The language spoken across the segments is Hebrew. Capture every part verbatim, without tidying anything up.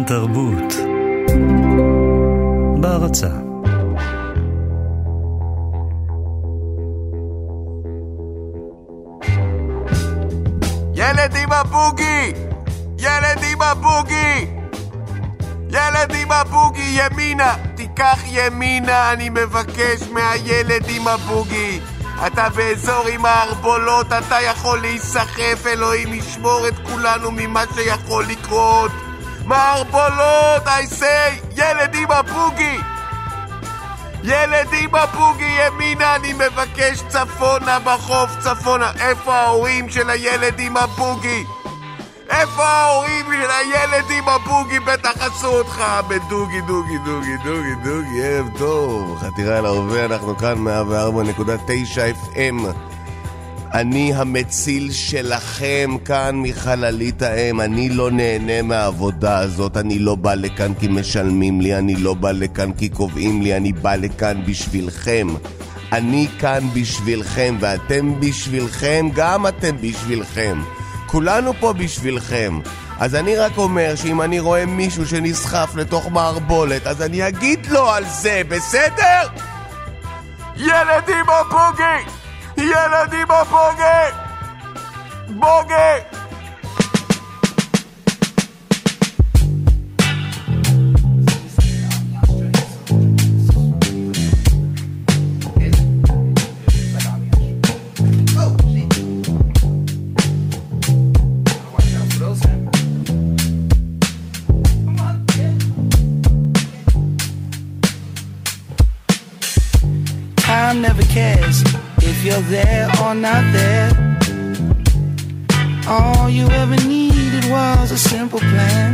התרבות בהרצה. ילד עם הבוגי! ילד עם הבוגי! ילד עם הבוגי, ימינה! תיקח ימינה, אני מבקש מהילד עם הבוגי. אתה באזור עם ההרבולות, אתה יכול להיסחף, אלוהים ישמור את כולנו ממה שיכול לקרות. מההרבולות, I say, ילד עם הבוגי! ילד עם הבוגי, ימינה, אני מבקש צפונה בחוף, צפונה. איפה ההורים של הילד עם הבוגי? איפה ההורים של הילד עם הבוגי? בטח עשו אותך בדוגי, דוגי, דוגי, דוגי, דוגי. ערב טוב, חתירה על הרבה, אנחנו כאן מאה וארבע נקודה תשע אף אם. אני המציל שלכם כאן מחללית האם. אני לא נהנה מהעבודה הזאת. אני לא בא לכאן כי משלמים לי, אני לא בא לכאן כי קובעים לי, אני בא לכאן בשבילכם. אני כאן בשבילכם, ואתם בשבילכם, גם אתם בשבילכם. כולנו פה בשבילכם. אז אני רק אומר שאם אני רואה מישהו שנסחף לתוך מערבולת, אז אני אגיד לו על זה, בסדר? ילדים הבוגי! ילדים הבוגי! בוגי! Time never cares if you're there or not there. All you ever needed was a simple plan.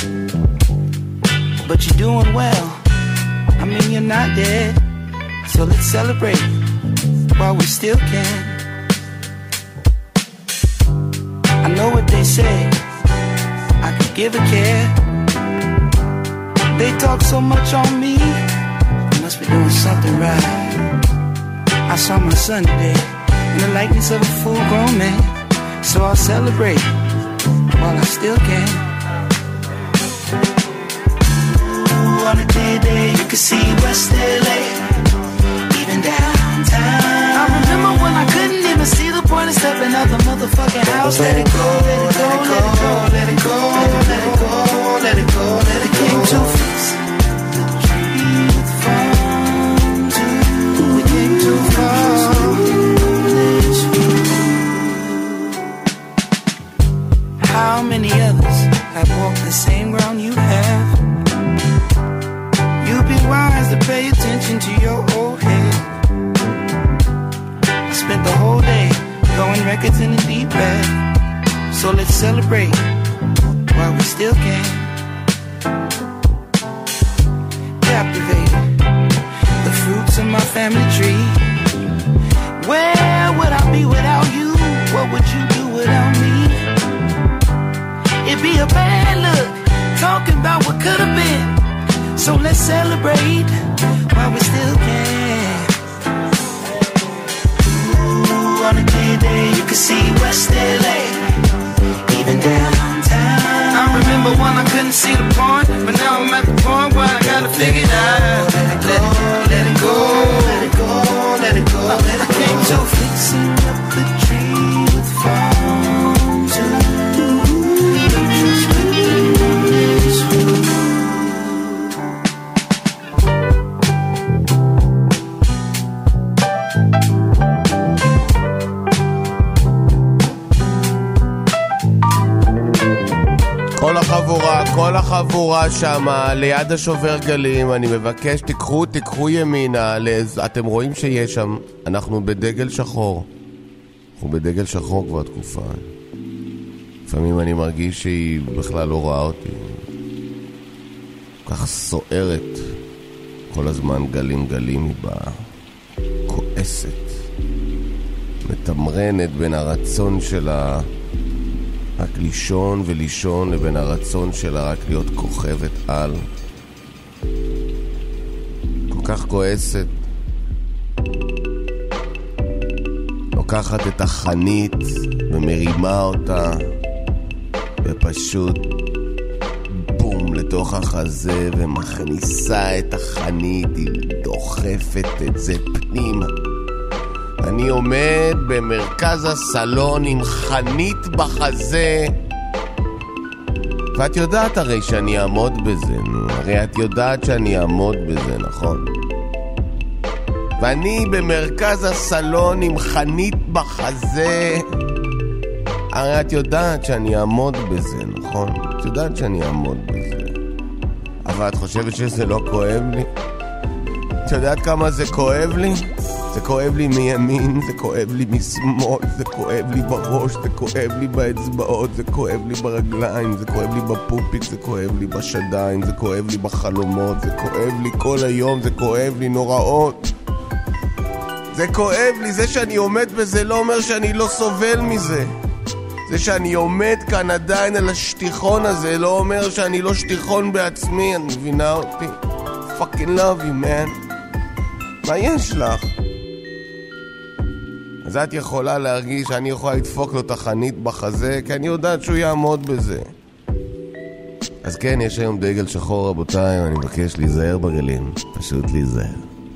But you're doing well, I mean you're not dead. So let's celebrate while we still can. I know what they say, I could give a care. They talk so much on me, I must be doing something right. I saw my son today in the likeness of a full-grown man. So I'll celebrate while I still can. Ooh, on a day day you can see West L A, even downtown. I remember when I couldn't even see the point of stepping out the motherfucking house. Let it go, let it go, let it go, let it go, let it go, let it go, let it go. Came too fast. Too far. How many others have walked the same ground you have? You'd be wise to pay attention to your old head. I spent the whole day throwing records in the deep bag. So let's celebrate while we still can. Captivated the fruits of my family tree. Where would I be without you? What would you do without me? It'd be a bad look, talking about what could have been. So let's celebrate while we still can. Ooh, on a clear day you can see West L A, even downtown. I remember when I couldn't see the point, but now I'm at the point where I gotta figure it out. Let it, let it go, let it go, let it go, let it go. I came to fixing up the tree with farm too. כל החבורה, כל החבורה שמה, ליד השובר גלים, אני מבקש, תיקחו, תיקחו ימינה, לז... אתם רואים שיש שם, אנחנו בדגל שחור. אנחנו בדגל שחור כבר תקופה. לפעמים אני מרגיש שהיא בכלל לא רואה אותי. כך סוערת. כל הזמן גלים גלים היא באה. כועסת. מתמרנת בין הרצון שלה רק לישון ולישון לבין הרצון שלה רק להיות כוכבת על. כל כך כועסת. לוקחת את החנית ומרימה אותה ופשוט בום לתוך לתוך החזה ומכניסה את החנית, היא דוחפת את זה פנימה. אני עומד במרכז הסלון עם חנית בחזה, ואת יודעת הרי שאני אעמוד בזה, נו, הרי את יודעת שאני אעמוד בזה, נכון? ואני במרכז הסלון עם חנית בחזה, הרי את יודעת שאני אעמוד בזה, נכון? את יודעת שאני אעמוד בזה. אבל את חושבת שזה לא כואב לי? את יודעת כמה זה כואב לי? זה כואב לי מימין, זה כואב לי משמאל, זה כואב לי בראש, זה כואב לי באצבעות, זה כואב לי ברגליים, זה כואב לי בפופיק, זה כואב לי בשדיים, זה כואב לי בחלומות, זה כואב לי כל היום, זה כואב לי נוראות. זה כואב לי, זה שאני עומד בזה לא אומר שאני לא סובל מזה. זה שאני עומד כאן עדיין על השטיחון הזה לא אומר שאני לא שטיחון בעצמי, אני מבינה אותי? fucking love you man. מה יש לך? אז את יכולה להרגיש שאני יכולה לדפוק לו את החנית בחזה, כי אני יודעת שהוא יעמוד בזה. אז כן, יש היום דגל שחור רבותיי, ואני מבקש להיזהר בגלים, פשוט להיזהר.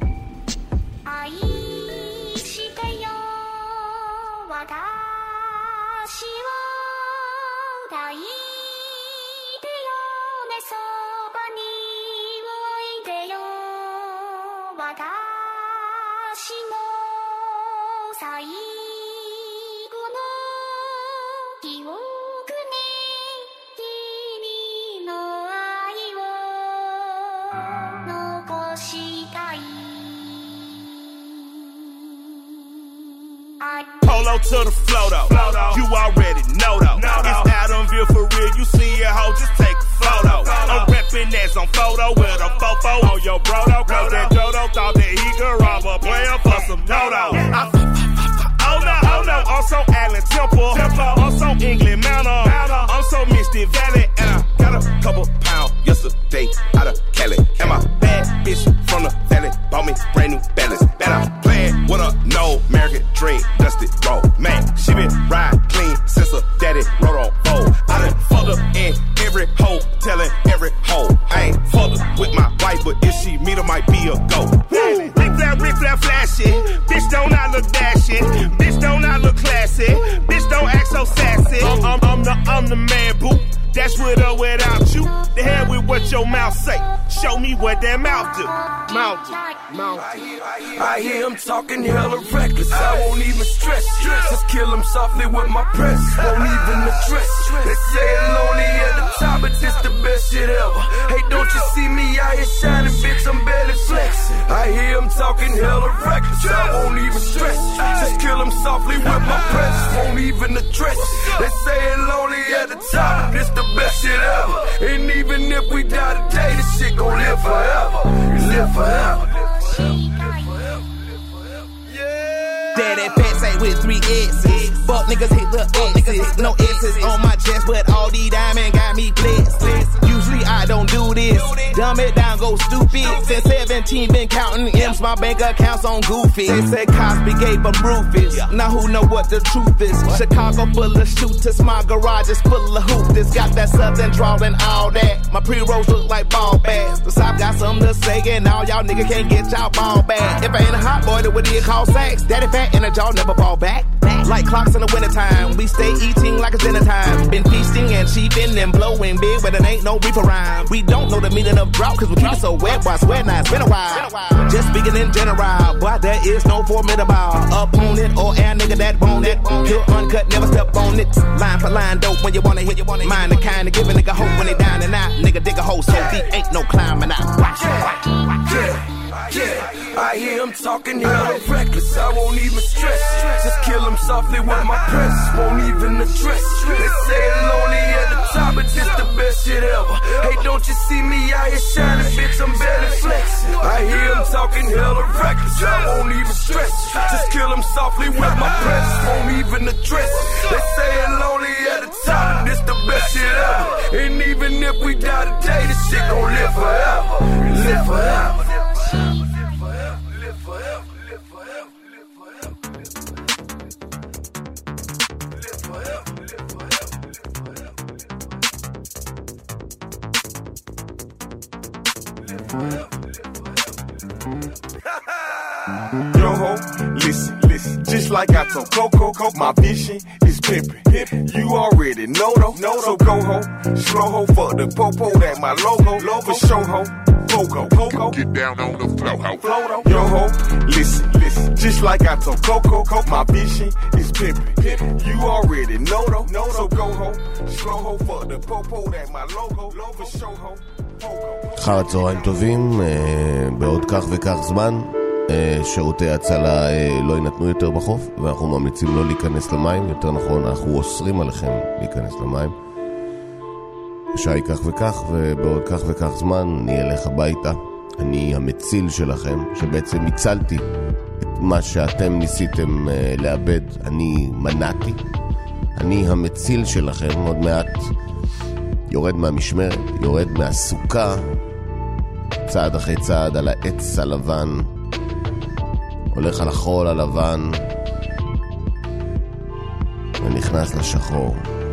Polo to the flow though, you already know though. It's Adamville for real, you see your hoe, just take a photo. I'm reppin' as on photo with a fofo on your brodo, cause that Jodo thought that he could rob a player for some dodo. Oh no, oh no, I'm so Allen Temple, I'm so England Mountain, I'm so Misty Valley, and I got a couple pounds yesterday out of Cali. And my bad bitch from the valley bought me brand new balance. Bet I'm playing with a no American dream, dusted roll. Man, she been ride clean since her daddy rode on bowl. I done fucked her in every hole, telling every hole. I ain't fucked her with my wife, but if she meet her, might be a go. Woo! Rick flat, Rick flat, flashy. Bitch don't not look dashing. Bitch don't not look classy. Bitch don't act so sassy. I'm, I'm, I'm the, I'm the man, boo. That's with or without you. The hell with what your mouth say. Show me what that mouth do. Mouth do. Mouth do. I hear, I hear, I hear him talking hella reckless. I won't even stress. Just kill him softly with my press. Won't even address. They say it lonely at the top, but this the best shit ever. Hey, don't you see me out here shining, bitch? I'm barely flexing. I hear him talking hella reckless. I won't even stress. Just kill him softly with my press. Won't even address. They say it lonely at the top, but this the best shit ever. And even if we die today, this shit gon' live forever. Live forever. Daddy Pat say with three X's. Fuck niggas hit the X's. No X's on my chest, but all these diamonds got me blessed. Usually I don't do this. Dumb it down, go stupid. Since seventeen, been counting M's, my bank accounts on Goofy. They said Cosby gave them Rufus. Now who know what the truth is? Chicago full of shooters, my garage is full of hoopers. Got that southern drawl and all that. My pre-rolls look like ball bags. The South got something to say, and all y'all niggas can't get y'all ball back. If I ain't a hot boy, then what do you call sex? Daddy fat and a jaw never ball back. Like clocks in the wintertime, we stay eating like it's dinner time. Been feasting and cheaping and blowing big, but it ain't no reaper rhyme. We don't know the meaning of drought, cause we keep it so wet, boy, I swear now it's been a while. Just speaking in general, boy, there is no formidable opponent or air nigga that want it. Pure uncut, never step on it. Line for line, dope when you wanna hit. Mind the kind of give a nigga hope when they down and out. Nigga dig a hole so deep, ain't no climbing out. Watch, watch, watch. Yeah. Yeah, I hear him talking hella reckless. I won't even stress. Just kill him softly with my press. Won't even address. They say it lonely at the top, but this the best shit ever. Hey, don't you see me out here shining, bitch? I'm barely flexing. I hear him talking hella reckless. I won't even stress. Just kill him softly with my press. Won't even address. They say it lonely at the top, but this the best shit ever. And even if we die today, this shit gon' live forever. Live forever. Yo ho, listen, listen. Just like I told Coco, my vision is pimpin'. Pimpin'. You already know though. No, so go ho, slow ho for the popo. That my logo, logo show ho. Pogo, Pogo. Get down on the flow ho. Yo ho, listen, listen. Just like I told Coco, my vision is pimpin'. Pimpin'. You already know though. No, so go ho, slow ho for the popo. That my logo, logo show ho. אחר הצהריים טובים, בעוד כך וכך זמן שירותי הצלה לא ינתנו יותר בחוף, ואנחנו ממליצים לא להיכנס למים, יותר נכון אנחנו אוסרים עליכם להיכנס למים. השעה היא כך וכך, ובעוד כך וכך זמן אני אלך הביתה. אני המציל שלכם, שבעצם הצלתי את מה שאתם ניסיתם לאבד, אני מנעתי. אני המציל שלכם, עוד מעט יורד מהמשמרת, יורד מהסוכה, צעד אחרי צעד על העץ הלבן, הולך על החול הלבן ונכנס לשחור.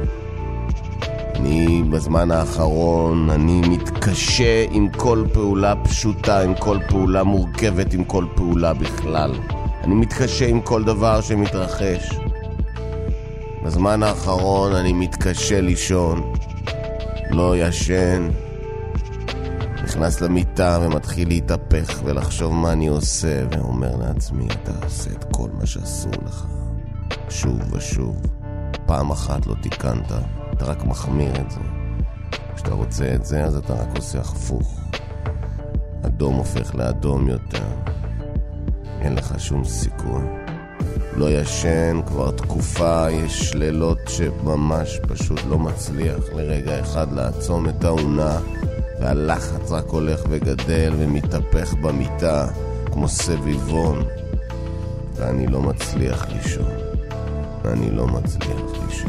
אני בזמן האחרון, אני מתקשה עם כל פעולה פשוטה, עם כל פעולה מורכבת, עם כל פעולה בכלל. אני מתקשה עם כל דבר שמתרחש. בזמן האחרון אני מתקשה לישון, לא ישן, נכנס למיטה ומתחיל להתהפך ולחשוב מה אני עושה, ואומר לעצמי, אתה עושה את כל מה שאסור לך שוב ושוב. פעם אחת לא תיקנת, אתה רק מחמיר את זה. כשאתה רוצה את זה, אז אתה רק עושה הפוך. אדום הופך לאדום יותר. אין לך שום סיכוי. לא ישן כבר תקופה, יש לילות שממש פשוט לא מצליח לרגע אחד לעצום את העונה, והלחץ רק הולך וגדל ומתהפך במיטה כמו סביבון, ואני לא מצליח לישון. אני לא מצליח לישון.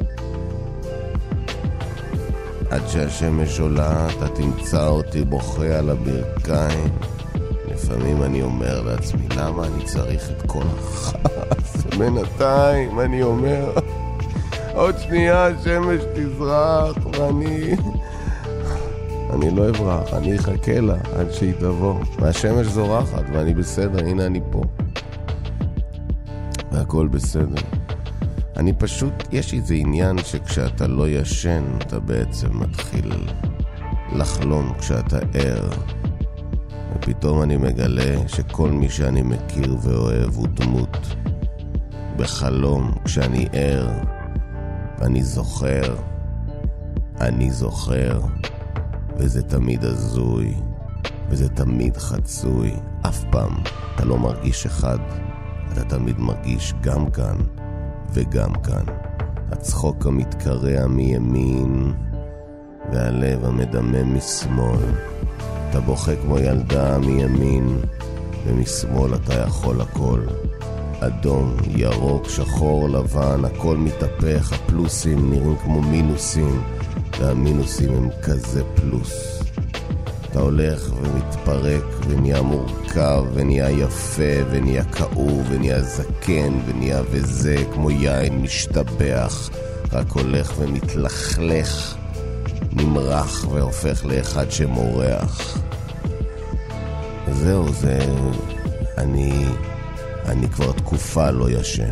עד שהשמש עולה אתה תמצא אותי בוכה על הברכיים. לפעמים אני אומר לעצמי, למה אני צריך את כל החס? בינתיים אני אומר, עוד שנייה השמש תזרח ואני אני לא אברח, אני אחכה לה עד שהיא תבוא, והשמש זורחת ואני בסדר, הנה אני פה והכל בסדר. אני פשוט, יש איזה עניין שכשאתה לא ישן אתה בעצם מתחיל לחלום כשאתה ער, ופתאום אני מגלה שכל מי שאני מכיר ואוהב הוא דמות בחלום. כשאני ער ואני זוכר, אני זוכר, וזה תמיד הזוי וזה תמיד חצוי. אף פעם אתה לא מרגיש אחד, אתה תמיד מרגיש גם כאן וגם כאן. הצחוק המתקרע מימין והלב המדמם משמאל. אתה בוכה כמו ילדה מימין, ומשמאל אתה יכול הכל. אדום, ירוק, שחור, לבן, הכל מתהפך. הפלוסים נראים כמו מינוסים, והמינוסים הם כזה פלוס. אתה הולך ומתפרק ונהיה מורכב ונהיה יפה ונהיה כאוב ונהיה זקן ונהיה וזה כמו יין משתבח, רק הולך ומתלכלך, נמרח והופך לאחד שמורח. זהו, זה אני אני כבר תקופה לא ישן.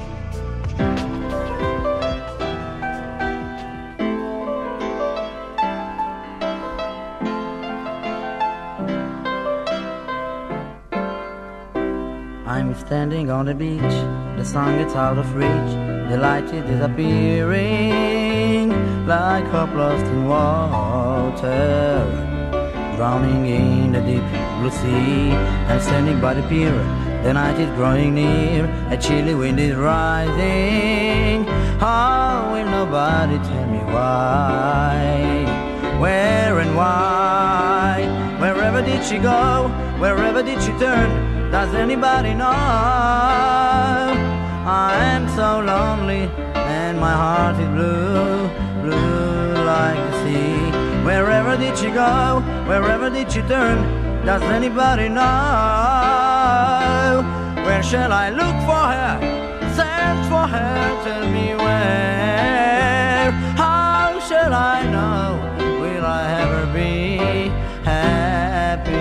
I'm standing on the beach, the sun gets out of reach, the light is disappearing like hope lost in water, drowning in the deep blue sea. I'm standing by the pier, the night is growing near, a chilly wind is rising. How will nobody tell me why, where and why? Wherever did she go, wherever did she turn? Does anybody know? I am so lonely and my heart is blue, blue like the sea. Wherever did she go? Wherever did she turn? Does anybody know? Where shall I look for her? Search for her, tell me where. How shall I know? Will I ever be happy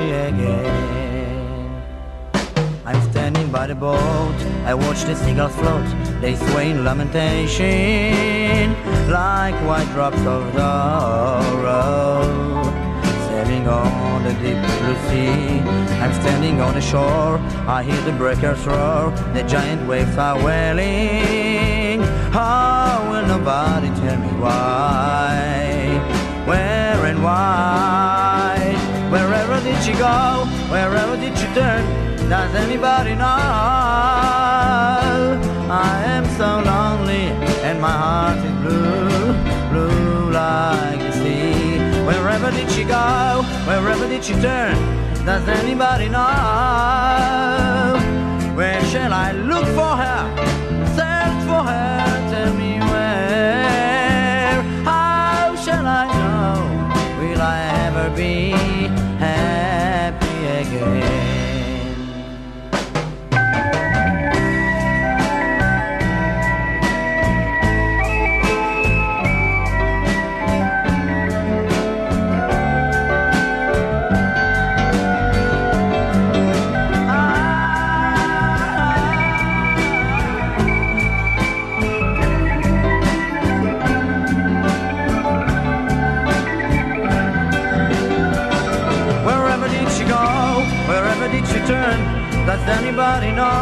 boat, I watch the seagulls float. They sway in lamentation like white drops of sorrow. Sailing on the deep blue sea, I'm standing on the shore. I hear the breakers roar, the giant waves are wailing. How will nobody tell me why? Where and why? Wherever did she go? Wherever did she turn? Does anybody know? I am so lonely and my heart is blue, blue like the sea. Wherever did she go? Wherever did she turn? Does anybody know? Where shall I look for her? Search for her, tell me where. How shall I know? Will I ever be happy again? Turn, does anybody know?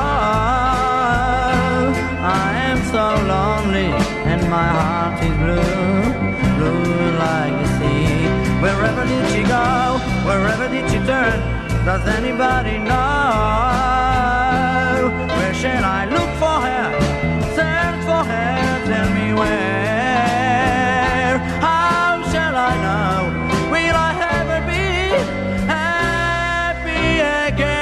I am so lonely and my heart is blue, blue like the sea. Wherever did she go? Wherever did she turn? Does anybody know? Where shall I look for her? Search for her, tell me where. How shall I know? Will I ever be happy again?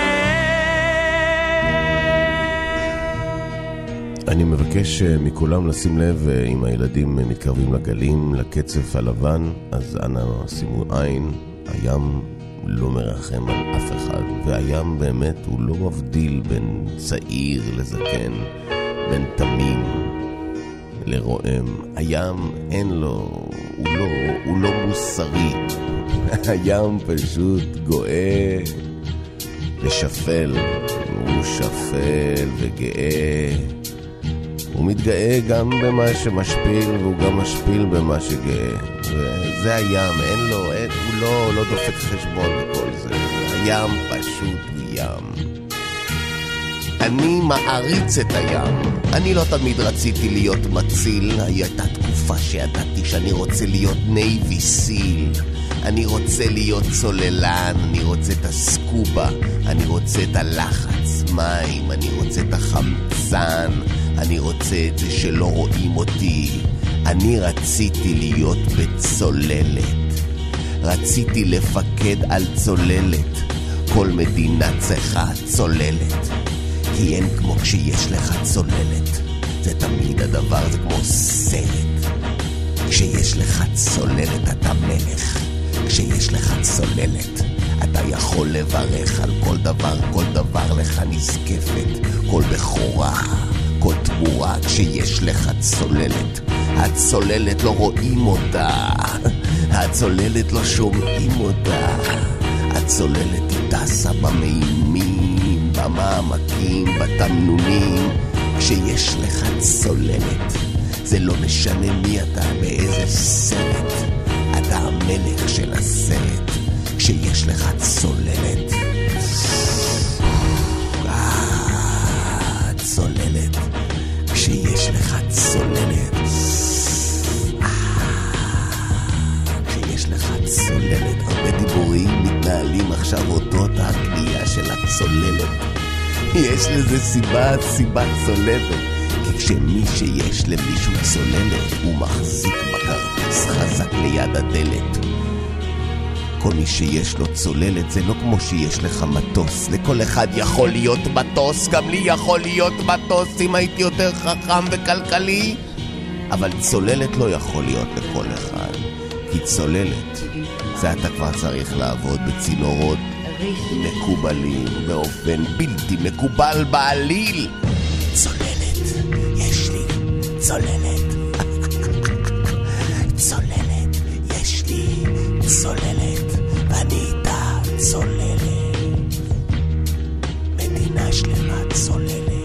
אני מבקש מכולם לשים לב, אם הילדים מתקרבים לגלים, לקצף הלבן, אז אנא שימו עין. הים לא מרחם על אף אחד, והים באמת הוא לא מבדיל בין צעיר לזקן, בין תמים לרועם. הים אין לו, הוא לא, הוא לא מוסרי. הים פשוט גואה לשפל, הוא שפל וגאה. הוא מתגאה גם במה שמשפיל, והוא גם משפיל במה שגאה. וזה הים, אין לו, אין, הוא לא, לא דופק חשבון בכל זה. הים פשוט הוא ים. אני מעריץ את הים. אני לא תמיד רציתי להיות מציל. הייתה תקופה שידעתי שאני רוצה להיות נייבי סיל. אני רוצה להיות צוללן, אני רוצה את הסקובה, אני רוצה את הלחץ מים, אני רוצה את החמצן, אני רוצה את זה שלא רואים אותי. אני רציתי להיות בצוללת, רציתי לפקד על צוללת. כל מדינה צריכה צוללת, כי אין כמו כשיש לך צוללת. זה תמיד הדבר, זה כמו סרט. כשיש לך צוללת אתה מלך, כשיש לך צוללת אתה יכול לברך על כל דבר, כל דבר לך נזקפת, כל בחורה, כל תמורה. כשיש לך צוללת, הצוללת לא רואים אותה, הצוללת לא שומעים אותה. הצוללת היא טסה במימים, במעמקים, בתמנונים. כשיש לך צוללת זה לא משנה מי אתה, באיזה סרט, אתה המלך של הסרט. כשיש לך צוללת, אה, צוללת. כשיש לך צוללת, אה, כשיש לך צוללת. הרבה דיבורים מתנהלים עכשיו אודות הקנייה של הצוללת. יש לזה סיבה, סיבה צולבת. כי כשמי שיש למישהו צוללת, הוא מחזיק בכרטיס חזק ליד הדלת. כל מי שיש לו צוללת זה לא כמו שיש לך מטוס. לכל אחד יכול להיות מטוס, גם לי יכול להיות מטוס אם הייתי יותר חכם וכלכלי. אבל צוללת לא יכול להיות לכל אחד, כי צוללת זה אתה כבר צריך לעבוד בצינורות מקובלים באופן בלתי מקובל בעליל. צוללת, יש לי צוללת. צוללת, יש לי צוללת, ואני איתה צוללת. מדינה שלמה צוללת.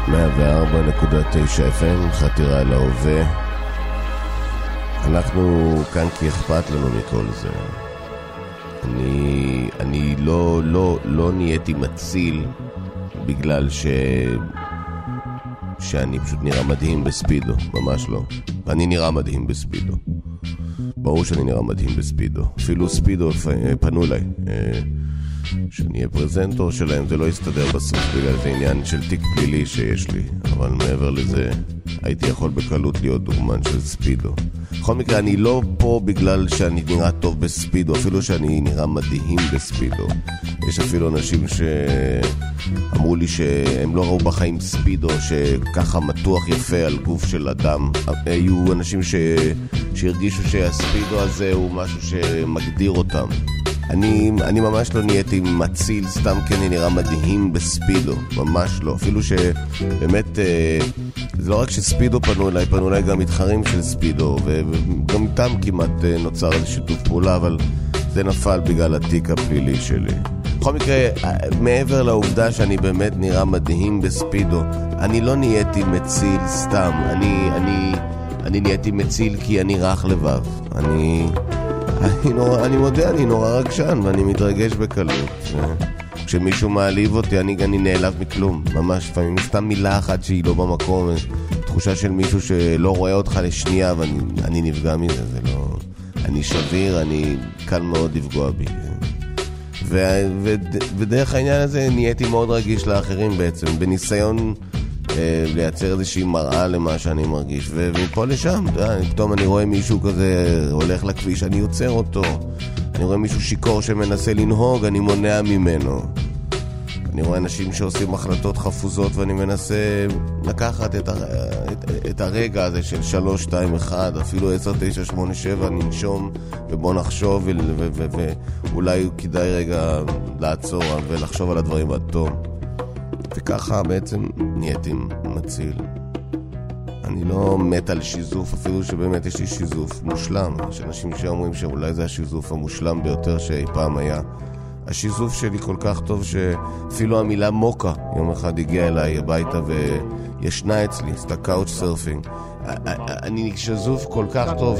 מאה וארבע נקודה תשע אף אם, חתירה אל ההווה. אנחנו כאן כי אכפת לנו מכל זה. אני, אני לא, לא, לא נהייתי מציל בגלל ש... שאני פשוט נראה מדהים בספידו, ממש לא. אני נראה מדהים בספידו. ברור שאני נראה מדהים בספידו. אפילו ספידו פנו אליי. שאני אהיה פרזנטור שלהם, זה לא יסתדר בסוף בגלל זה עניין של תיק פלילי שיש לי, אבל מעבר לזה הייתי יכול בקלות להיות דוגמן של ספידו. בכל מקרה, אני לא פה בגלל שאני נראה טוב בספידו, אפילו שאני נראה מדהים בספידו. יש אפילו אנשים שאמרו לי שהם לא ראו בחיים ספידו שככה מתוח יפה על גוף של אדם. היו אנשים ש... שהרגישו שהספידו הזה הוא משהו שמגדיר אותם. אני, אני ממש לא נהייתי מציל סתם כי אני נראה מדהים בספידו, ממש לא. אפילו שבאמת, אה, זה לא רק שספידו פנו אליי, פנו אליי גם מתחרים של ספידו, וגם איתם כמעט אה, נוצר איזה שיתוף פעולה, אבל זה נפל בגלל התיק הפלילי שלי. בכל מקרה, מעבר לעובדה שאני באמת נראה מדהים בספידו, אני לא נהייתי מציל סתם, אני, אני, אני נהייתי מציל כי אני רך לבב. אני... אני, נורא, אני מודה, אני נורא רגשן ואני מתרגש בקלות. כשמישהו מעליב אותי, אני, אני נעלב מכלום, ממש. לפעמים סתם מילה אחת שהיא לא במקום, תחושה של מישהו שלא רואה אותך לשנייה, ואני אני נפגע מזה, זה לא... אני שביר, אני קל מאוד לפגוע בי. ו, ו, ודרך העניין הזה נהייתי מאוד רגיש לאחרים בעצם, בניסיון... לייצר איזושהי מראה למה שאני מרגיש, ומפה לשם, פתאום אני רואה מישהו כזה הולך לכביש, אני יוצר אותו. אני רואה מישהו שיקור שמנסה לנהוג, אני מונע ממנו. אני רואה אנשים שעושים החלטות חפוזות ואני מנסה לקחת את, הר... את, את הרגע הזה של שלוש, שתיים, אחד, אפילו עשר, תשע, שמונה, שבע, ננשום ובוא נחשוב ו... ו... ו... ו... ואולי כדאי רגע לעצור ולחשוב על הדברים עד תום. וככה בעצם נהייתי מציל. אני לא מת על שיזוף, אפילו שבאמת יש לי שיזוף מושלם. יש אנשים שאומרים שאולי זה השיזוף המושלם ביותר שאי פעם היה. השיזוף שלי כל כך טוב שאפילו המילה מוקה יום אחד הגיעה אליי הביתה וישנה אצלי, סתה קאוץ' סרפינג. אני שיזוף כל כך טוב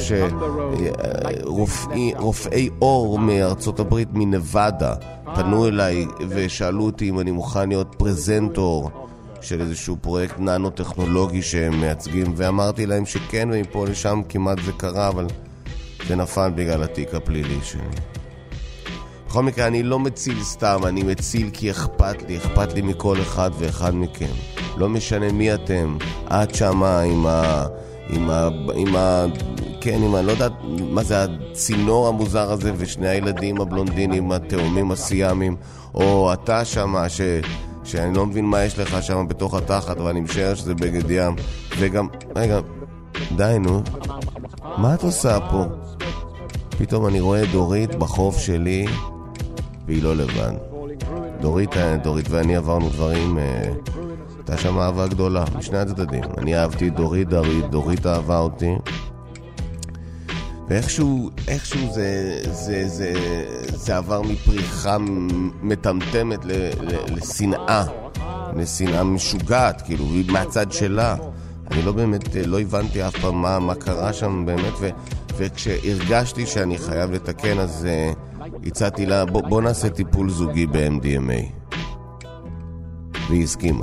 שרופאי אור מארצות הברית, מנבדה, פנו אליי ושאלו אותי אם אני מוכן להיות פרזנטור של איזשהו פרויקט ננו-טכנולוגי שהם מייצגים, ואמרתי להם שכן, ומפה לשם כמעט זה קרה, אבל זה נפל בגלל התיק הפלילי שלי. בכל מקרה, אני לא מציל סתם, אני מציל כי אכפת לי, אכפת לי מכל אחד ואחד מכם. לא משנה מי אתם, עד שמה עם ה... עם ה... עם ה... כן, עם ה... לא יודעת מה זה הצינור המוזר הזה, ושני הילדים הבלונדינים, התאומים הסיאמים, או אתה שמה, ש... שאני לא מבין מה יש לך שם בתוך התחת, אבל אני משער שזה בגד ים. וגם, רגע, די נו, מה את עושה פה? פתאום אני רואה דורית בחוף שלי, והיא לא לבן. דורית, דורית ואני עברנו דברים, הייתה שם אהבה גדולה, משני הצדדים. אני אהבתי דורית, דורית, דורית אהבה אותי. ואיכשהו, איכשהו זה, זה, זה, זה עבר מפריחה מטמטמת ל, ל, לשנאה, לשנאה משוגעת, כאילו, מהצד שלה. אני לא באמת, לא הבנתי אף פעם מה, מה קרה שם באמת, ו, וכשהרגשתי שאני חייב לתקן, אז uh, הצעתי לה, בוא, בוא נעשה טיפול זוגי ב-אם די אם איי. והיא הסכימה.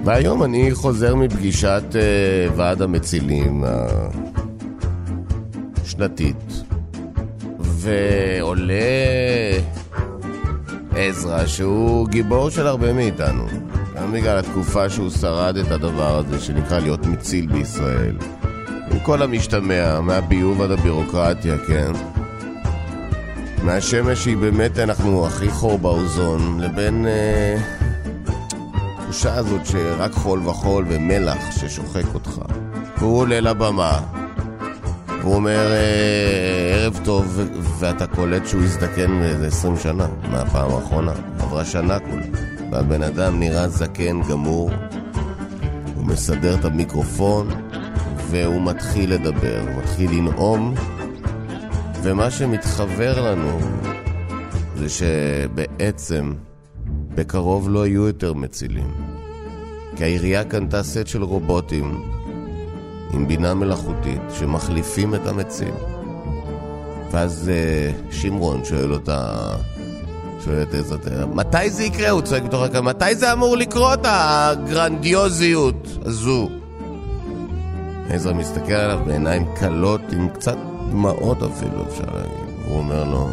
והיום אני חוזר מפגישת uh, ועד המצילים השנתית, ועולה עזרא שהוא גיבור של הרבה מאיתנו, גם בגלל התקופה שהוא שרד את הדבר הזה שנקרא להיות מציל בישראל, עם כל המשתמע, מהביוב עד הבירוקרטיה, כן? מהשמש שהיא באמת אנחנו הכי חור באוזון, לבין אה, תחושה הזאת שרק חול וחול ומלח ששוחק אותך. והוא עולה לבמה, והוא אומר אה, ערב טוב, ואתה קולט שהוא הזדקן באיזה עשרים שנה מהפעם האחרונה. עברה שנה כולה, והבן אדם נראה זקן גמור, הוא מסדר את המיקרופון, והוא מתחיל לדבר, הוא מתחיל לנאום, ומה שמתחבר לנו זה שבעצם בקרוב לא יהיו יותר מצילים, כי העירייה קנתה סט של רובוטים עם בינה מלאכותית שמחליפים את המציל. ואז שמרון שואל אותה, שואל את עזרא, מתי זה יקרה? הוא צועק בתוך הקהל, מתי זה אמור לקרות, הגרנדיוזיות הזו? עזרא מסתכל עליו בעיניים קלות, עם קצת דמעות אפילו אפשר להגיד. הוא אומר לו,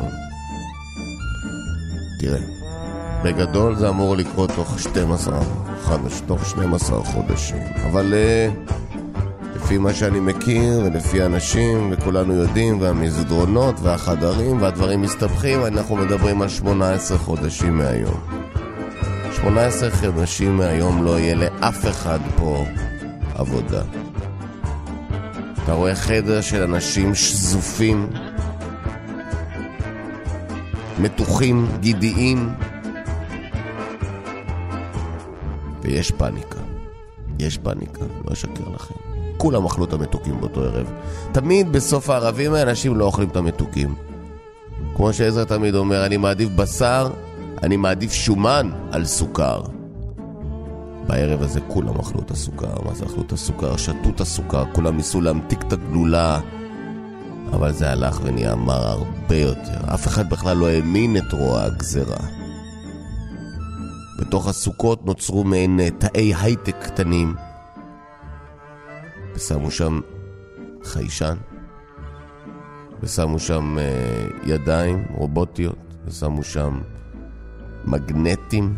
תראה, בגדול זה אמור לקרות תוך שתים עשרה חודשים, תוך שנים עשר חודשים, אבל לפי מה שאני מכיר ולפי האנשים וכולנו יודעים, והמסדרונות והחדרים והדברים מסתבכים, אנחנו מדברים על שמונה עשרה חודשים מהיום. שמונה עשרה חודשים מהיום לא יהיה לאף אחד פה עבודה. אתה רואה חדר של אנשים שזופים, מתוחים, גידיים, ויש פאניקה. יש פאניקה, לא אשקר לכם. כולם אכלו את המתוקים באותו ערב. תמיד בסוף הערבים האנשים לא אוכלים את המתוקים. כמו שעזרא תמיד אומר, אני מעדיף בשר, אני מעדיף שומן על סוכר. בערב הזה כולם אכלו את הסוכר. מה זה אכלו את הסוכר? שתו את הסוכר, כולם ניסו להמתיק את הגלולה, אבל זה הלך ונהיה מר הרבה יותר. אף אחד בכלל לא האמין את רוע הגזרה. בתוך הסוכות נוצרו מעין תאי הייטק קטנים, ושמו שם חיישן, ושמו שם uh, ידיים רובוטיות, ושמו שם מגנטים,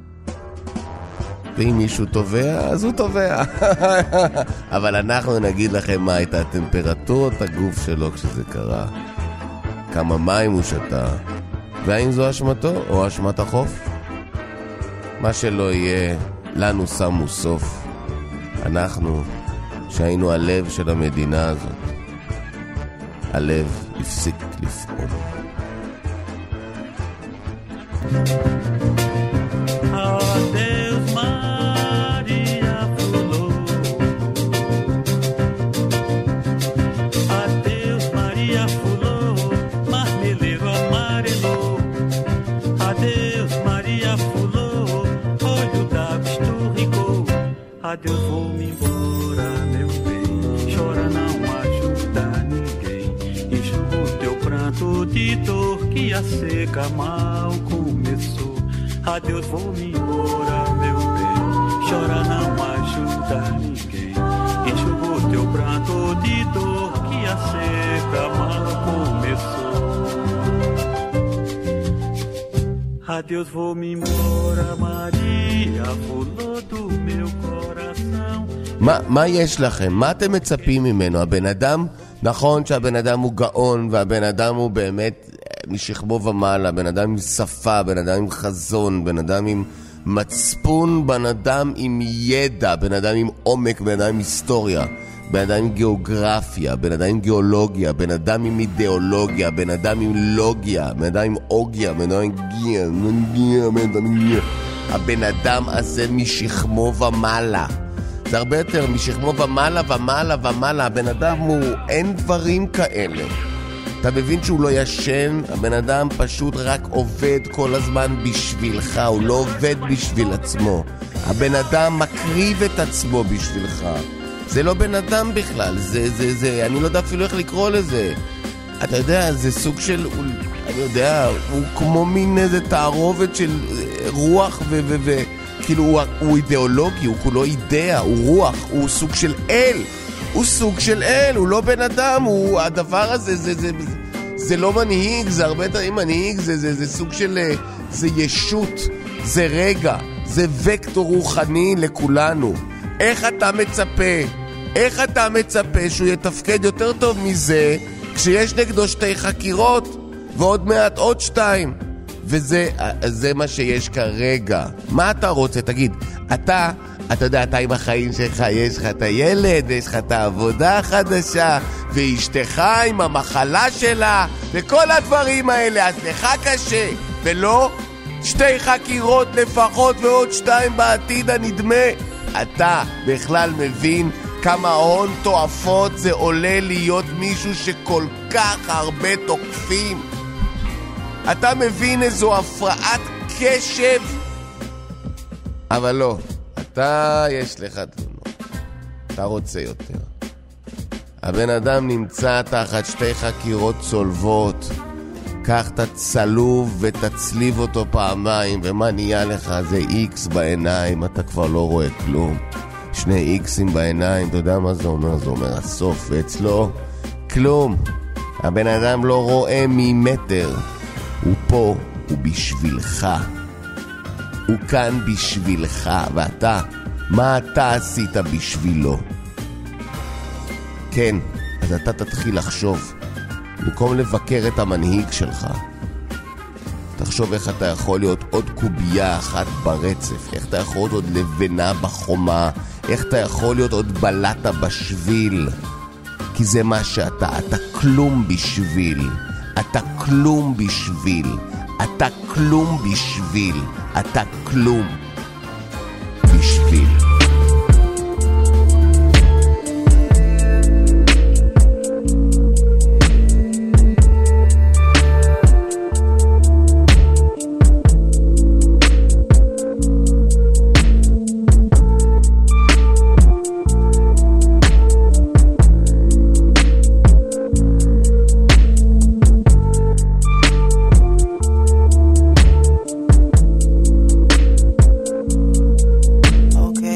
ואם מישהו טובע, אז הוא טובע. אבל אנחנו נגיד לכם מה הייתה טמפרטורת הגוף שלו כשזה קרה, כמה מים הוא שתה, והאם זו אשמתו או אשמת החוף. מה שלא יהיה, לנו שמו סוף. אנחנו, שהיינו הלב של המדינה הזאת, הלב הפסיק לפעול. Adeus, vou-me embora, meu bem. Chora, não ajuda ninguém. Enxuga o teu pranto de dor que a seca mal começou. Adeus, vou-me embora, meu bem. Chora, não ajuda ninguém. Enxuga o teu pranto de dor que a seca mal começou. Adeus, vou-me embora, Maria, fulô do meu coração. מה, מה יש לכם? מה אתם מצפים ממנו? הבן אדם, נכון שהבן אדם הוא גאון, והבן אדם הוא באמת משכמו ומעלה, הבן אדם עם שפה, הבן אדם עם חזון, בן אדם עם מצפון, בן אדם עם ידע, בן אדם עם עומק, בן אדם עם היסטוריה, בן אדם עם גיאוגרפיה, בן אדם עם גיאולוגיה, בן אדם עם אידיאולוגיה, בן אדם עם לוגיה, בן אדם עם אוגיה, בן אדם עם גיה, בן אדם עם גיה. הבן אדם הזה משכמו ומעלה. זה הרבה יותר משכמו ומעלה ומעלה ומעלה. הבן אדם הוא, אין דברים כאלה. אתה מבין שהוא לא ישן? הבן אדם פשוט רק עובד כל הזמן בשבילך, הוא לא עובד בשביל עצמו. הבן אדם מקריב את עצמו בשבילך. זה לא בן אדם בכלל, זה, זה, זה, אני לא יודע אפילו איך לקרוא לזה. אתה יודע, זה סוג של, אני יודע, הוא כמו מין איזה תערובת של רוח ו... ו, ו כאילו הוא, הוא אידיאולוגי, הוא כולו אידאה, הוא רוח, הוא סוג של אל. הוא סוג של אל, הוא לא בן אדם, הוא, הדבר הזה, זה, זה, זה, זה לא מנהיג, זה הרבה דברים מנהיג, זה, זה, זה סוג של, זה ישות, זה רגע, זה וקטור רוחני לכולנו. איך אתה מצפה, איך אתה מצפה שהוא יתפקד יותר טוב מזה, כשיש נגדו שתי חקירות, ועוד מעט עוד שתיים, וזה זה מה שיש כרגע. מה אתה רוצה? תגיד, אתה, אתה יודע, אתה עם החיים שלך, יש לך את הילד, יש לך את העבודה החדשה, ואשתך עם המחלה שלה, וכל הדברים האלה, אז לך קשה, ולא שתי חקירות לפחות ועוד שתיים בעתיד הנדמה. אתה בכלל מבין כמה הון תועפות זה עולה להיות מישהו שכל כך הרבה תוקפים? אתה מבין איזו הפרעת קשב? אבל לא, אתה יש לך תלונות, אתה רוצה יותר. הבן אדם נמצא תחת שתי חקירות צולבות, קח את הצלוב ותצליב אותו פעמיים, ומה נהיה לך? זה איקס בעיניים, אתה כבר לא רואה כלום. שני איקסים בעיניים, אתה יודע מה זה אומר? זה אומר הסוף, ואצלו כלום. הבן אדם לא רואה ממטר. הוא פה, הוא בשבילך. הוא כאן בשבילך, ואתה, מה אתה עשית בשבילו? כן, אז אתה תתחיל לחשוב. במקום לבקר את המנהיג שלך, תחשוב איך אתה יכול להיות עוד קובייה אחת ברצף, איך אתה יכול להיות עוד לבנה בחומה, איך אתה יכול להיות עוד בלטה בשביל, כי זה מה שאתה, אתה כלום בשביל, אתה כלום בשביל, אתה כלום בשביל, אתה כלום בשביל. Okay.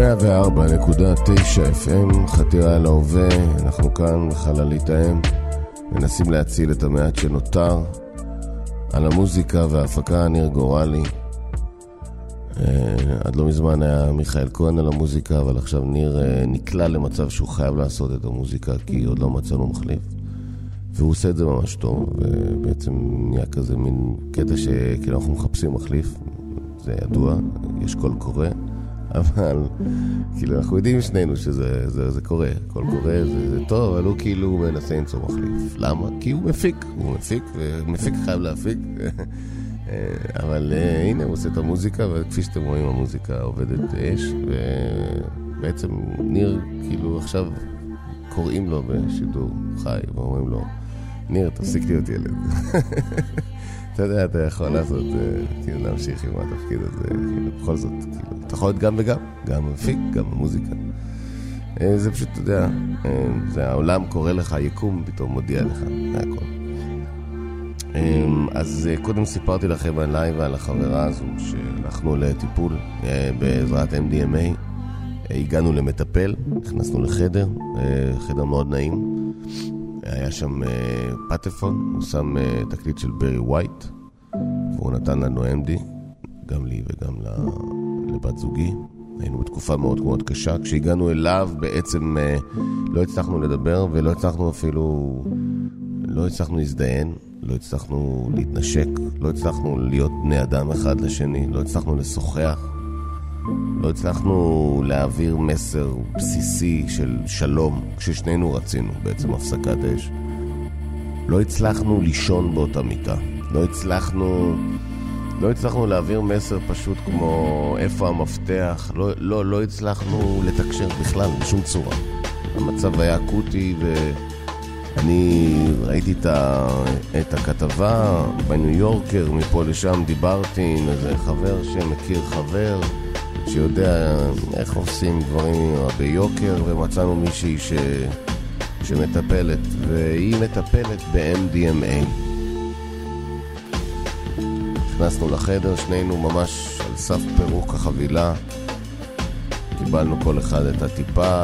מאה וארבע נקודה תשע אף אם, חתירה אל ההווה. אנחנו כאן בחללית האם, מנסים להציל את המעט שנותר. על המוזיקה וההפקה ניר גורלי. עד לא מזמן היה מיכאל כהן על המוזיקה, אבל עכשיו ניר נקלע למצב שהוא חייב לעשות את המוזיקה, כי עוד לא מצאנו מחליף. והוא עושה את זה ממש טוב, ובעצם נהיה כזה מין קטע שכאילו אנחנו מחפשים מחליף. זה ידוע, יש קול קורא, אבל כאילו אנחנו יודעים שנינו שזה זה, זה קורה, קול קורא זה, זה טוב, אבל הוא כאילו מנסה למצוא מחליף. למה? כי הוא מפיק, הוא מפיק, ומפיק חייב להפיק. אבל uh, הנה הוא עושה את המוזיקה, וכפי שאתם רואים המוזיקה עובדת אש, ובעצם ניר כאילו עכשיו קוראים לו בשידור חי ואומרים לו, ניר תפסיק להיות ילד. אתה יודע, אתה יכול לעשות, כאילו להמשיך עם התפקיד הזה, כאילו בכל זאת, כאילו, אתה יכול להיות גם וגם, גם מפיק, גם המוזיקה. זה פשוט, אתה יודע, זה העולם קורא לך, יקום פתאום מודיע לך, זה הכל. אז קודם סיפרתי לכם עליי ועל החברה הזו שהלכנו לטיפול בעזרת אם די אם איי. הגענו למטפל, נכנסנו לחדר, חדר מאוד נעים. היה שם פטפון, הוא שם תקליט של ברי ווייט, והוא נתן לנו אם די, גם לי וגם לבת זוגי. היינו בתקופה מאוד מאוד קשה. כשהגענו אליו בעצם לא הצלחנו לדבר ולא הצלחנו אפילו, לא הצלחנו להזדיין. לא הצלחנו להתנשק, לא הצלחנו להיות בני אדם אחד לשני, לא הצלחנו לשוחח, לא הצלחנו להעביר מסר בסיסי של שלום, כששנינו רצינו בעצם הפסקת אש. לא הצלחנו לישון באותה מיטה, לא הצלחנו, לא הצלחנו להעביר מסר פשוט כמו איפה המפתח, לא, לא, לא הצלחנו לתקשר בכלל בשום צורה. המצב היה אקוטי ו... אני ראיתי את, ה... את הכתבה בניו יורקר, מפה לשם דיברתי עם איזה חבר שמכיר חבר שיודע איך עושים דברים ביוקר, ומצאנו מישהי ש... שמטפלת, והיא מטפלת ב-אם די אם איי. נכנסנו לחדר, שנינו ממש על סף פירוק החבילה, קיבלנו כל אחד את הטיפה,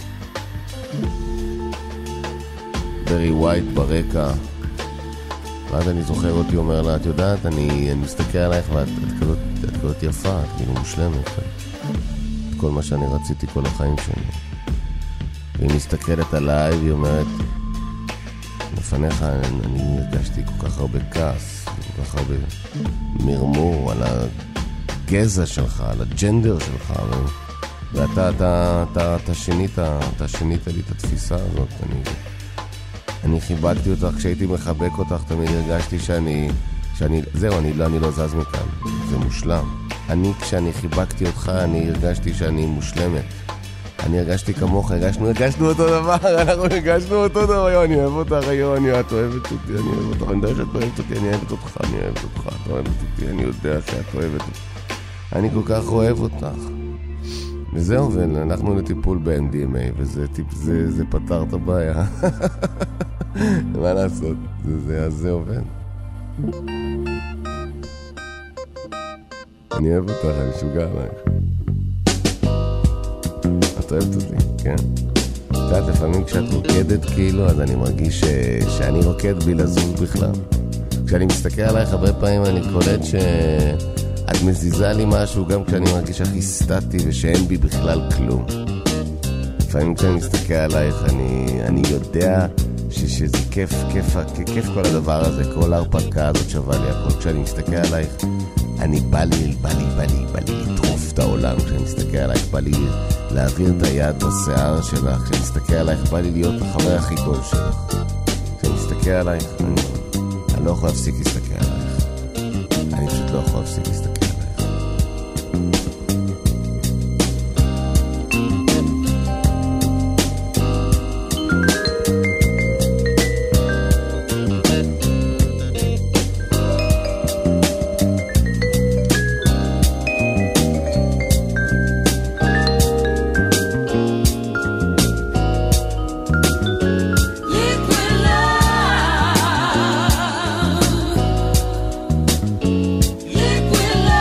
ברי ווייט ברקע. ואז אני זוכר אותי אומר לה, את יודעת, אני, אני מסתכל עלייך ואת את כזאת, את כזאת יפה, את כאילו מושלמת, את כל מה שאני רציתי כל החיים שלי. והיא מסתכלת עליי והיא אומרת, לפניך אני, אני הרגשתי כל כך הרבה כעס, כל כך הרבה מרמור על הגזע שלך, על הג'נדר שלך, ו... ואתה אתה, אתה, אתה שינית, אתה שינית לי את התפיסה הזאת. אני אני חיבקתי אותך, כשהייתי מחבק אותך תמיד הרגשתי שאני, שאני זהו, אני לא, אני לא זז מכאן, זה מושלם. אני, כשאני חיבקתי אותך, אני הרגשתי שאני מושלמת. אני הרגשתי כמוך, הרגשנו, הרגשנו אותו דבר, אנחנו הרגשנו אותו דבר, יו, אני אוהב אותך, יו, אני, את אוהבת אותי, אני אוהב אותך, אני יודע שאת אוהבת אותי, אני אוהבת אותך, אני אוהבת אותך, את אוהבת אותי, אני יודע שאת אוהבת אותי. אני כל כך אוהב אותך. וזהו, ואנחנו לטיפול ב-אם די אם איי, וזה זה, זה פתר את הבעיה. מה לעשות? זה, זה, אז זה עובד. אני אוהב אותך, אני שוגע עלייך. את אוהבת אותי, כן. את יודעת, לפעמים כשאת רוקדת כאילו, אז אני מרגיש ש... שאני רוקד בלי לזוז בכלל. כשאני מסתכל עלייך הרבה פעמים אני קולט ש... את מזיזה לי משהו גם כשאני מרגיש הכי סטטי ושאין בי בכלל כלום. לפעמים כשאני מסתכל עלייך אני, אני יודע ש, שזה כיף, כיף, כיף כל הדבר הזה, כל ההרפתקה הזאת שווה לי הכל. כשאני מסתכל עלייך אני בא לי, בא לי, בא לי, בא לי לטרוף את העולם. כשאני מסתכל עלייך בא לי להעביר את היד בשיער שלך. כשאני מסתכל עלייך בא לי להיות החבר הכי טוב שלך. כשאני מסתכל עלייך אני, אני לא יכול להפסיק להסתכל עלייך. אני פשוט לא יכול להפסיק להסתכל עלייך. Liquid love.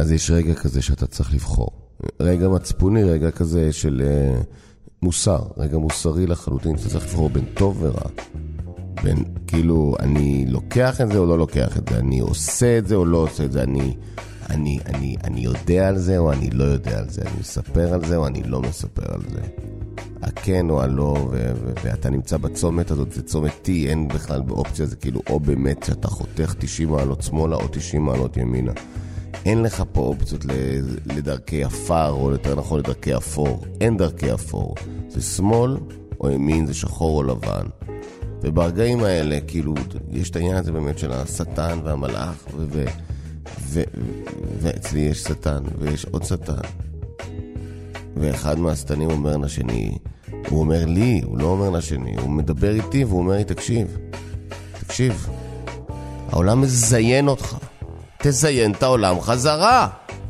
אז יש רגע כזה שאתה צריך לבחור. רגע מצפוני, רגע כזה של uh, מוסר, רגע מוסרי לחלוטין, אתה צריך לבחור בין טוב ורע. בין, כאילו, אני לוקח את זה או לא לוקח את זה, אני עושה את זה או לא עושה את זה, אני, אני, אני, אני יודע על זה או אני לא יודע על זה, אני מספר על זה או אני לא מספר על זה. הכן או הלא, ו- ו- ואתה נמצא בצומת הזאת, זה צומת T, אין בכלל באופציה, זה כאילו או באמת שאתה חותך תשעים מעלות שמאלה או תשעים מעלות ימינה. אין לך פה אופציות לדרכי אפר, או יותר נכון לדרכי אפור. אין דרכי אפור. זה שמאל או ימין, זה שחור או לבן. וברגעים האלה, כאילו, יש את העניין הזה באמת של השטן והמלאך, ו- ו- ו- ואצלי יש שטן, ויש עוד שטן. ואחד מהשטנים אומר לשני, הוא אומר לי, הוא לא אומר לשני, הוא מדבר איתי והוא אומר לי, תקשיב, תקשיב, העולם מזיין אותך. תזיין את העולם חזרה.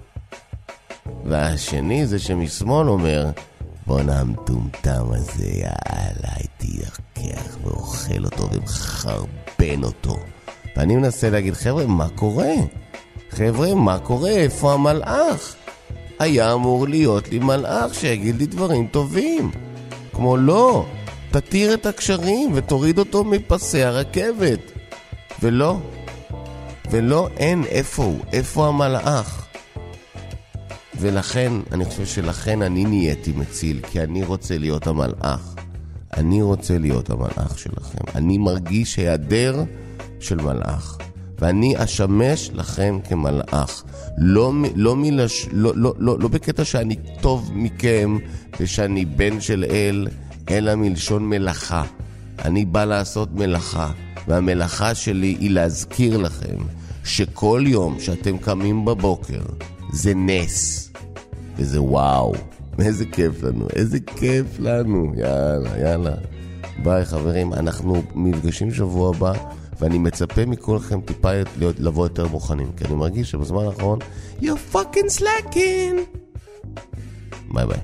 והשני זה שמשמאל אומר, בוא נמטומטם הזה, יאללה, הייתי לקח ואוכל אותו ומחרבן אותו. ואני מנסה להגיד, חבר'ה, מה קורה? חבר'ה, מה קורה? איפה המלאך? היה אמור להיות לי מלאך שיגיד לי דברים טובים. כמו לא, תתיר את הקשרים ותוריד אותו מפסי הרכבת. ולא, ולא, אין איפה הוא, איפה המלאך. ולכן, אני חושב שלכן אני נהייתי מציל, כי אני רוצה להיות המלאך. אני רוצה להיות המלאך שלכם. אני מרגיש היעדר של מלאך. ואני אשמש לכם כמלאך. לא, לא, מלש, לא, לא, לא, לא בקטע שאני טוב מכם ושאני בן של אל, אלא מלשון מלאכה. אני בא לעשות מלאכה, והמלאכה שלי היא להזכיר לכם שכל יום שאתם קמים בבוקר זה נס, וזה וואו. איזה כיף לנו, איזה כיף לנו. יאללה, יאללה. ביי חברים, אנחנו מפגשים שבוע הבא, ואני מצפה מכולכם טיפה להיות, לבוא יותר מוכנים, כי אני מרגיש שבזמן האחרון you're fucking slacking. ביי ביי.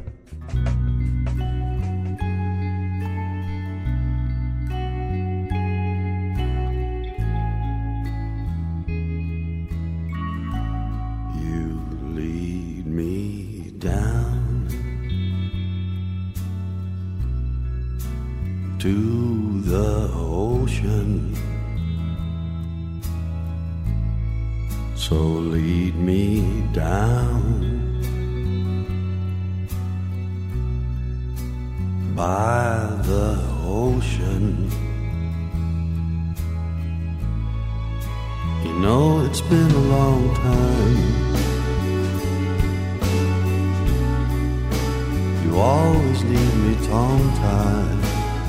To the ocean, so lead me down by the ocean. You know it's been a long time. You always leave me tongue-tied.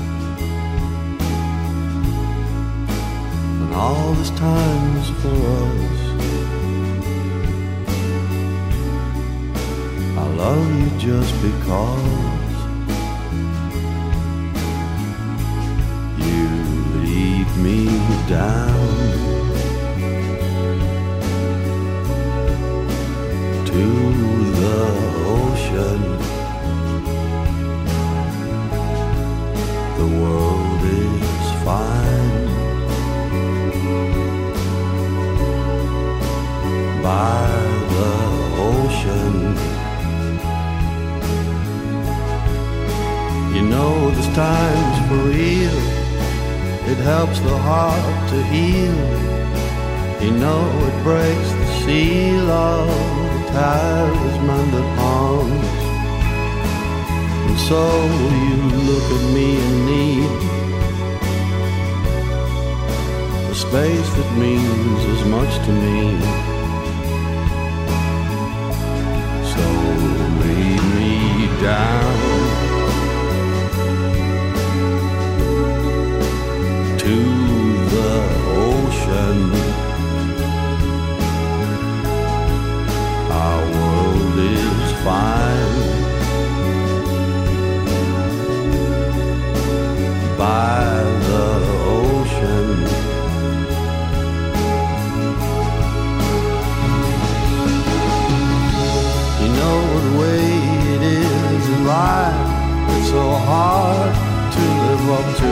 All this time's for us. I love you just because you lead me down to the ocean. The world is fine by the ocean. You know this time's for real. It helps the heart to heal. You know it breaks the seal of the talisman that haunts. And so you look at me in need, a space that means as much to me. Lead me down to the ocean. Our world is fine by the ocean. You know the way it is in life, it's so hard to live up to.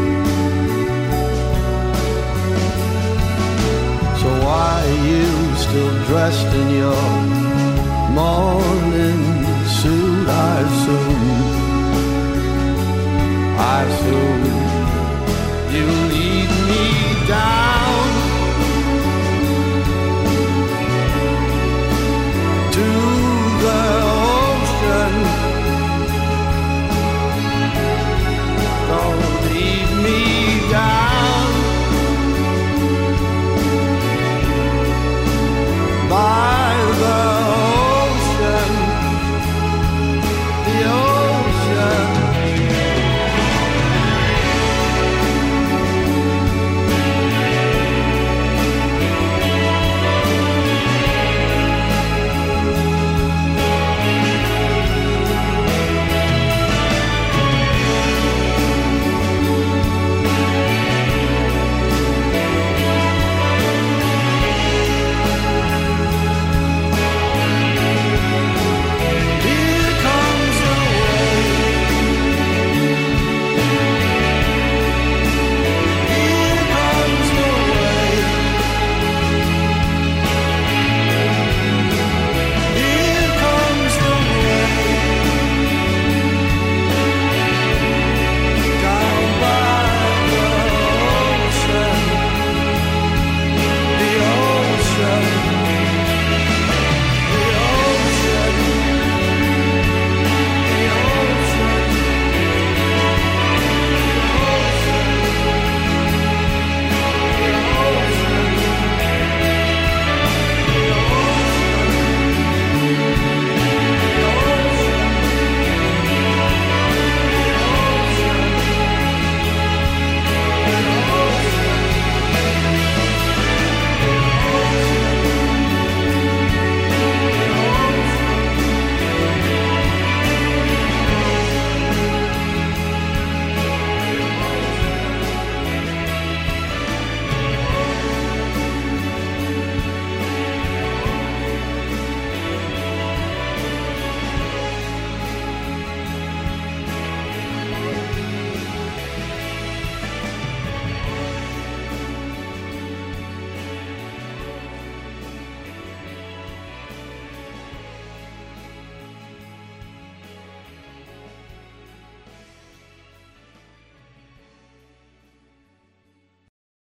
So why are you still still dressed in your morning suit. I assume, I assume you lead me down